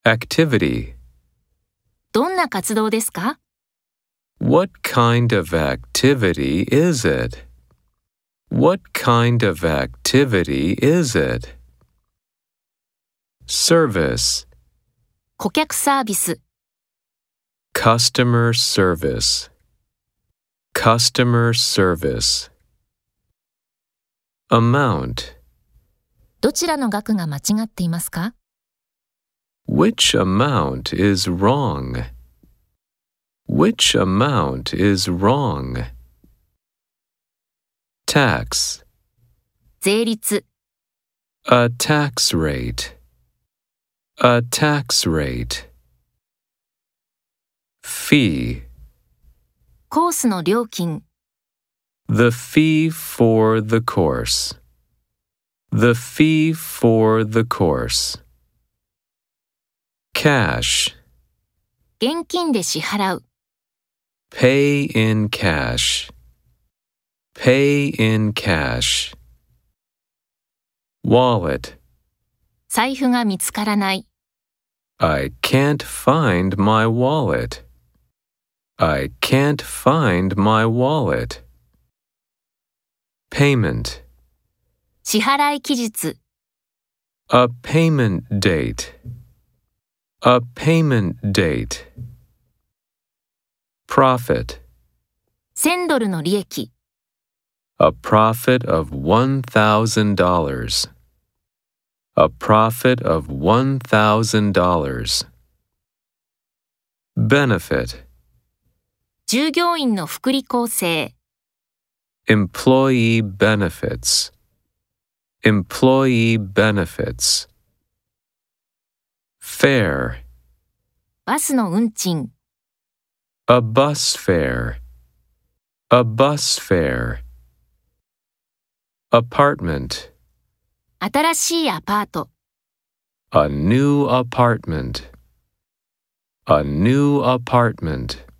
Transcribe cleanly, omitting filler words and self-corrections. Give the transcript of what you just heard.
Activity. どんな活動ですか？ What kind of activity is it? What kind of activity is it? Service. 顧客サービス、 Customer service. Customer service. Amount. どちらの額が間違っていますか？ Which amount is wrong? Which amount is wrong? Tax. 税率、 A tax rate. A tax rate. Fee. コースの料金、 The fee for the course. The fee for the course. Cash. 現金で支払う、 Pay in cash. Pay in cash. Wallet. 財布が見つからない、 I can't find my wallet. I can't find my wallet. Payment. 支払い期日、 A payment date. A payment date. Profit. 1000ドルの利益、 A profit of $1,000. A profit of $1,000. Benefit. 従業員の福利厚生、 Employee benefits. Employee benefits. Fare. バスの運賃、 A bus fare. A bus fare. Apartment. 新しいアパート、 A new apartment. A new apartment.